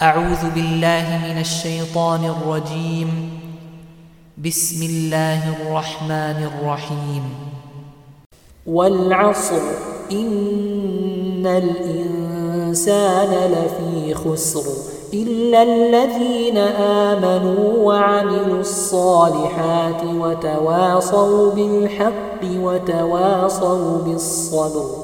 أعوذ بالله من الشيطان الرجيم. بسم الله الرحمن الرحيم. والعصر إن الإنسان لفي خسر إلا الذين آمنوا وعملوا الصالحات وتواصوا بالحق وتواصوا بالصبر.